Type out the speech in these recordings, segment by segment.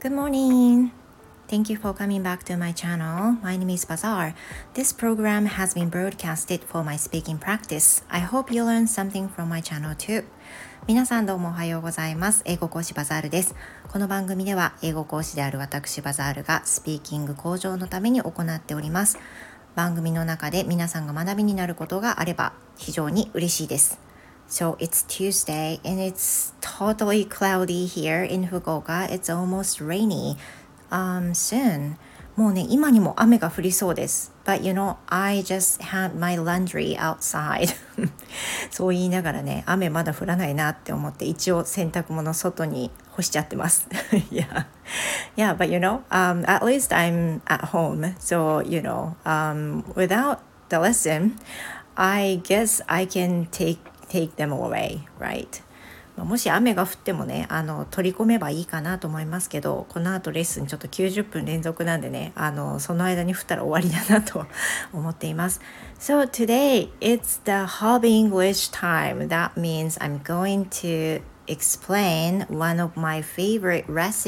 Good morning. Thank you for coming back to my channel. My name is Bazaar. This program has been broadcasted for my speaking practice. I hope you learn something from my channel too. 皆さんどうもおはようございます。英語講師バザールです。この番組では英語講師である私バザールがスピーキング向上のために行っております。番組の中で皆さんが学びになることがあれば非常に嬉しいです。So it's Tuesday and it's totally cloudy here in Fukuoka. It's almost rainy.Soon もうね今にも雨が降りそうです But you know I just had my laundry outside そう言いながらね雨まだ降らないなって思って一応洗濯物外に干しちゃってますyeah, but you know、at least I'm at home So you know、without the lesson I guess I can take them away, right?もし雨が降ってもね取り込めばいいかなと思いますけどこの後レッスンちょっと90分連続なんでねその間に降ったら終わりだなと思っています So today it's the hobby English time That means I'm going to explain one of my favorite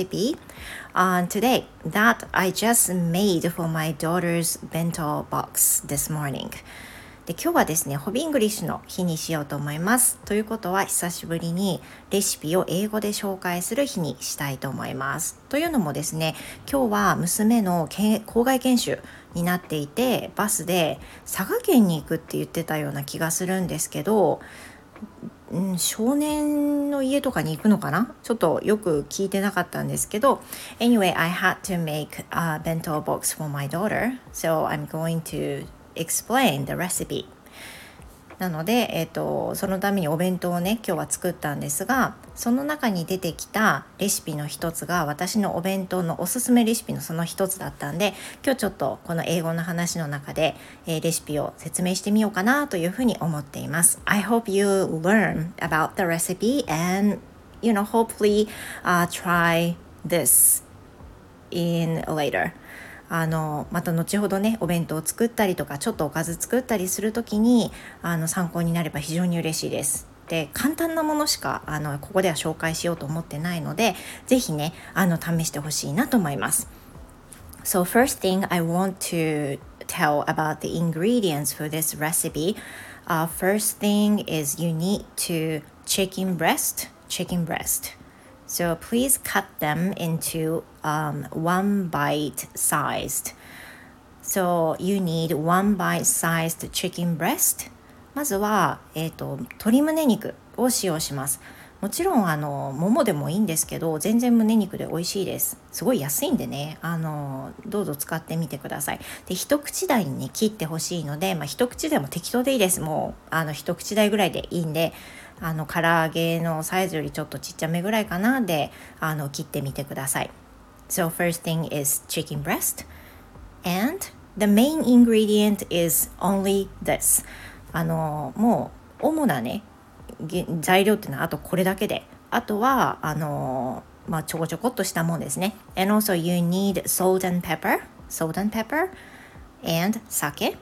recipe、today that I just made for my daughter's bento box this morningで今日はですねホビーイングリッシュの日にしようと思いますということは久しぶりにレシピを英語で紹介する日にしたいと思いますというのもですね今日は娘の校外研修になっていてバスで佐賀県に行くって言ってたような気がするんですけど、少年の家とかに行くのかなちょっとよく聞いてなかったんですけど Anyway, I had to make a bento box for my daughter So I'm going to explain the recipe なので、そのためにお弁当をね今日は作ったんですがその中に出てきたレシピの一つが私のお弁当のおすすめレシピのその一つだったんで今日ちょっとこの英語の話の中で、レシピを説明してみようかなというふうに思っています I hope you learn about the recipe and you know hopefully、try this in laterまた後ほどねお弁当を作ったりとかちょっとおかず作ったりするときに参考になれば非常に嬉しいですで簡単なものしかここでは紹介しようと思ってないのでぜひね試してほしいなと思います So first thing I want to tell about the ingredients for this recipe、first thing is you need to chicken breast So please cut them into、one bite sized. So you need one bite sized chicken breast. まずは、鶏胸肉を使用します。もちろんももでもいいんですけど全然胸肉で美味しいですすごい安いんでねどうぞ使ってみてくださいで一口大に、ね、切ってほしいので、一口でも適当でいいですもう一口大ぐらいでいいんで唐揚げのサイズよりちょっとちっちゃめぐらいかなで切ってみてください So first thing is chicken breast and the main ingredient is only this もう主なね材料っていうのはあとこれだけであとはちょこちょこっとしたもんですね And also you need salt and pepper and sake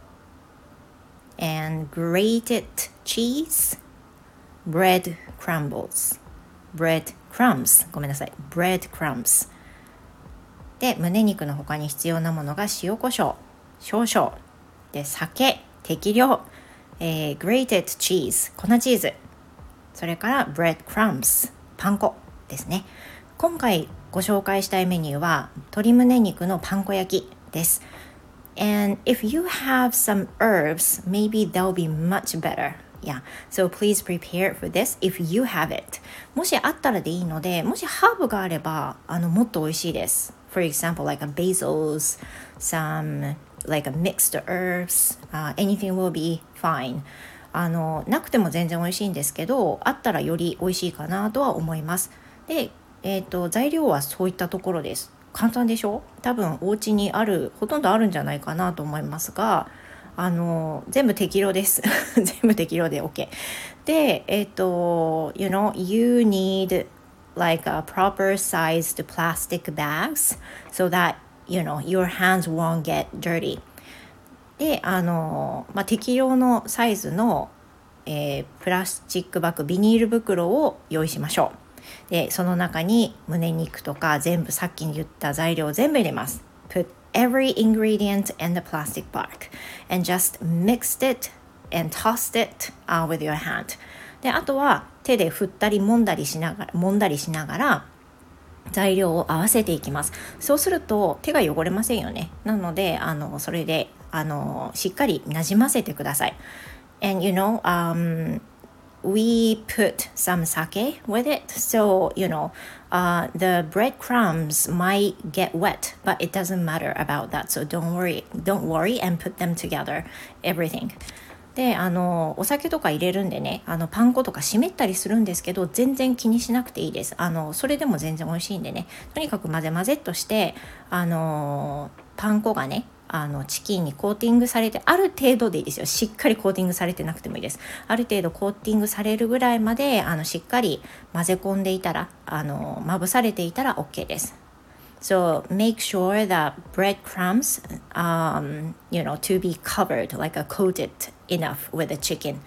and grated cheese bread crumbs ごめんなさい bread crumbs で胸肉の他に必要なものが塩コショウ少々で酒適量grated cheese 粉チーズそれから bread crumbs パン粉ですね今回ご紹介したいメニューは鶏胸肉のパン粉焼きです and if you have some herbs maybe they'll be much better Yeah, so please prepare for this if you have it. もしあったらでいいので、もしハーブがあれば、もっと美味しいです。For example, like a basils, some like a mixed herbs,、anything will be fine. なくても全然美味しいんですけど、あったらより美味しいかなとは思います。で、材料はそういったところです。簡単でしょ？多分お家にほとんどあるんじゃないかなと思いますが、全部適量です全部適量で OK でyou know you need like a proper sized plastic bags so that you know your hands won't get dirty で適量のサイズの、プラスチックバッグビニール袋を用意しましょうでその中に胸肉とか全部さっき言った材料を全部入れます。 Put every ingredient in the plastic bag and just mix it and toss it with your hand。 であとは手で振ったり揉んだりしながら材料を合わせていきます。そうすると手が汚れませんよね。なのでそれでしっかりなじませてください。 And we put some sake with it, so the breadcrumbs might get wet, but it doesn't matter about that, so don't worry and put them together, everything。でお酒とか入れるんでね、パン粉とか湿ったりするんですけど、全然気にしなくていいです。それでも全然美味しいんでね、とにかく混ぜっとしてパン粉がねチキンにコーティングされて、ある程度でいいですよ。しっかりコーティングされてなくてもいいです。ある程度コーティングされるぐらいまでしっかり混ぜ込んでいたらまぶされていたら OK です。So make sure that breadcrumbs, to be covered, like coated enough with the chicken.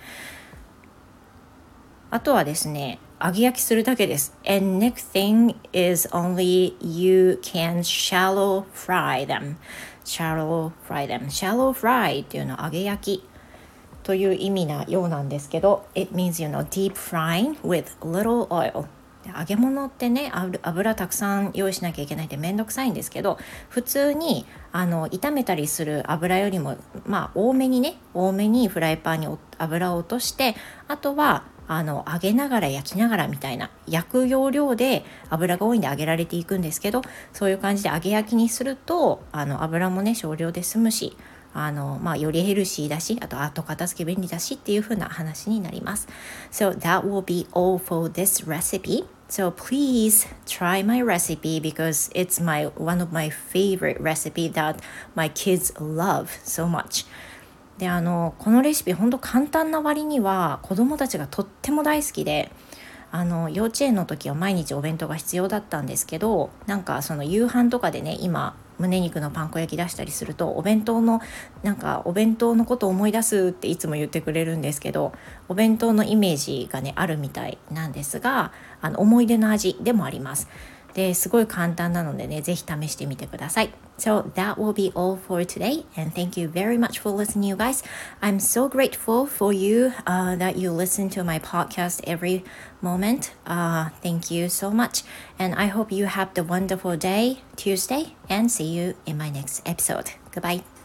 あとはですね、揚げ焼きするだけです。And next thing is only you can shallow fry them. Shallow fry っていうのは揚げ焼きという意味なようなんですけど、It means, deep frying with little oil。揚げ物ってね、油たくさん用意しなきゃいけないってめんどくさいんですけど、普通に炒めたりする油よりも多めにフライパンに油を落として、あとは揚げながら焼きながらみたいな、焼く要領で油が多いんで揚げられていくんですけど、そういう感じで揚げ焼きにすると油もね少量で済むし、よりヘルシーだし、あと後片付け便利だしっていう風な話になります。So that will be all for this recipe. So please try my recipe because it's one of my favorite recipe that my kids love so much. でこのレシピ本当簡単な割には子どもたちがとっても大好きで、幼稚園の時は毎日お弁当が必要だったんですけど、なんかその夕飯とかでね、今胸肉のパン粉焼き出したりするとお弁当のことを思い出すっていつも言ってくれるんですけど、お弁当のイメージがねあるみたいなんですが、思い出の味でもあります。ですごい簡単なのでね、ぜひ試してみてください。So that will be all for today, and thank you very much for listening, you guys. I'm so grateful for you that you listen to my podcast every moment. Thank you so much, and I hope you have the wonderful day, Tuesday, and see you in my next episode. Goodbye.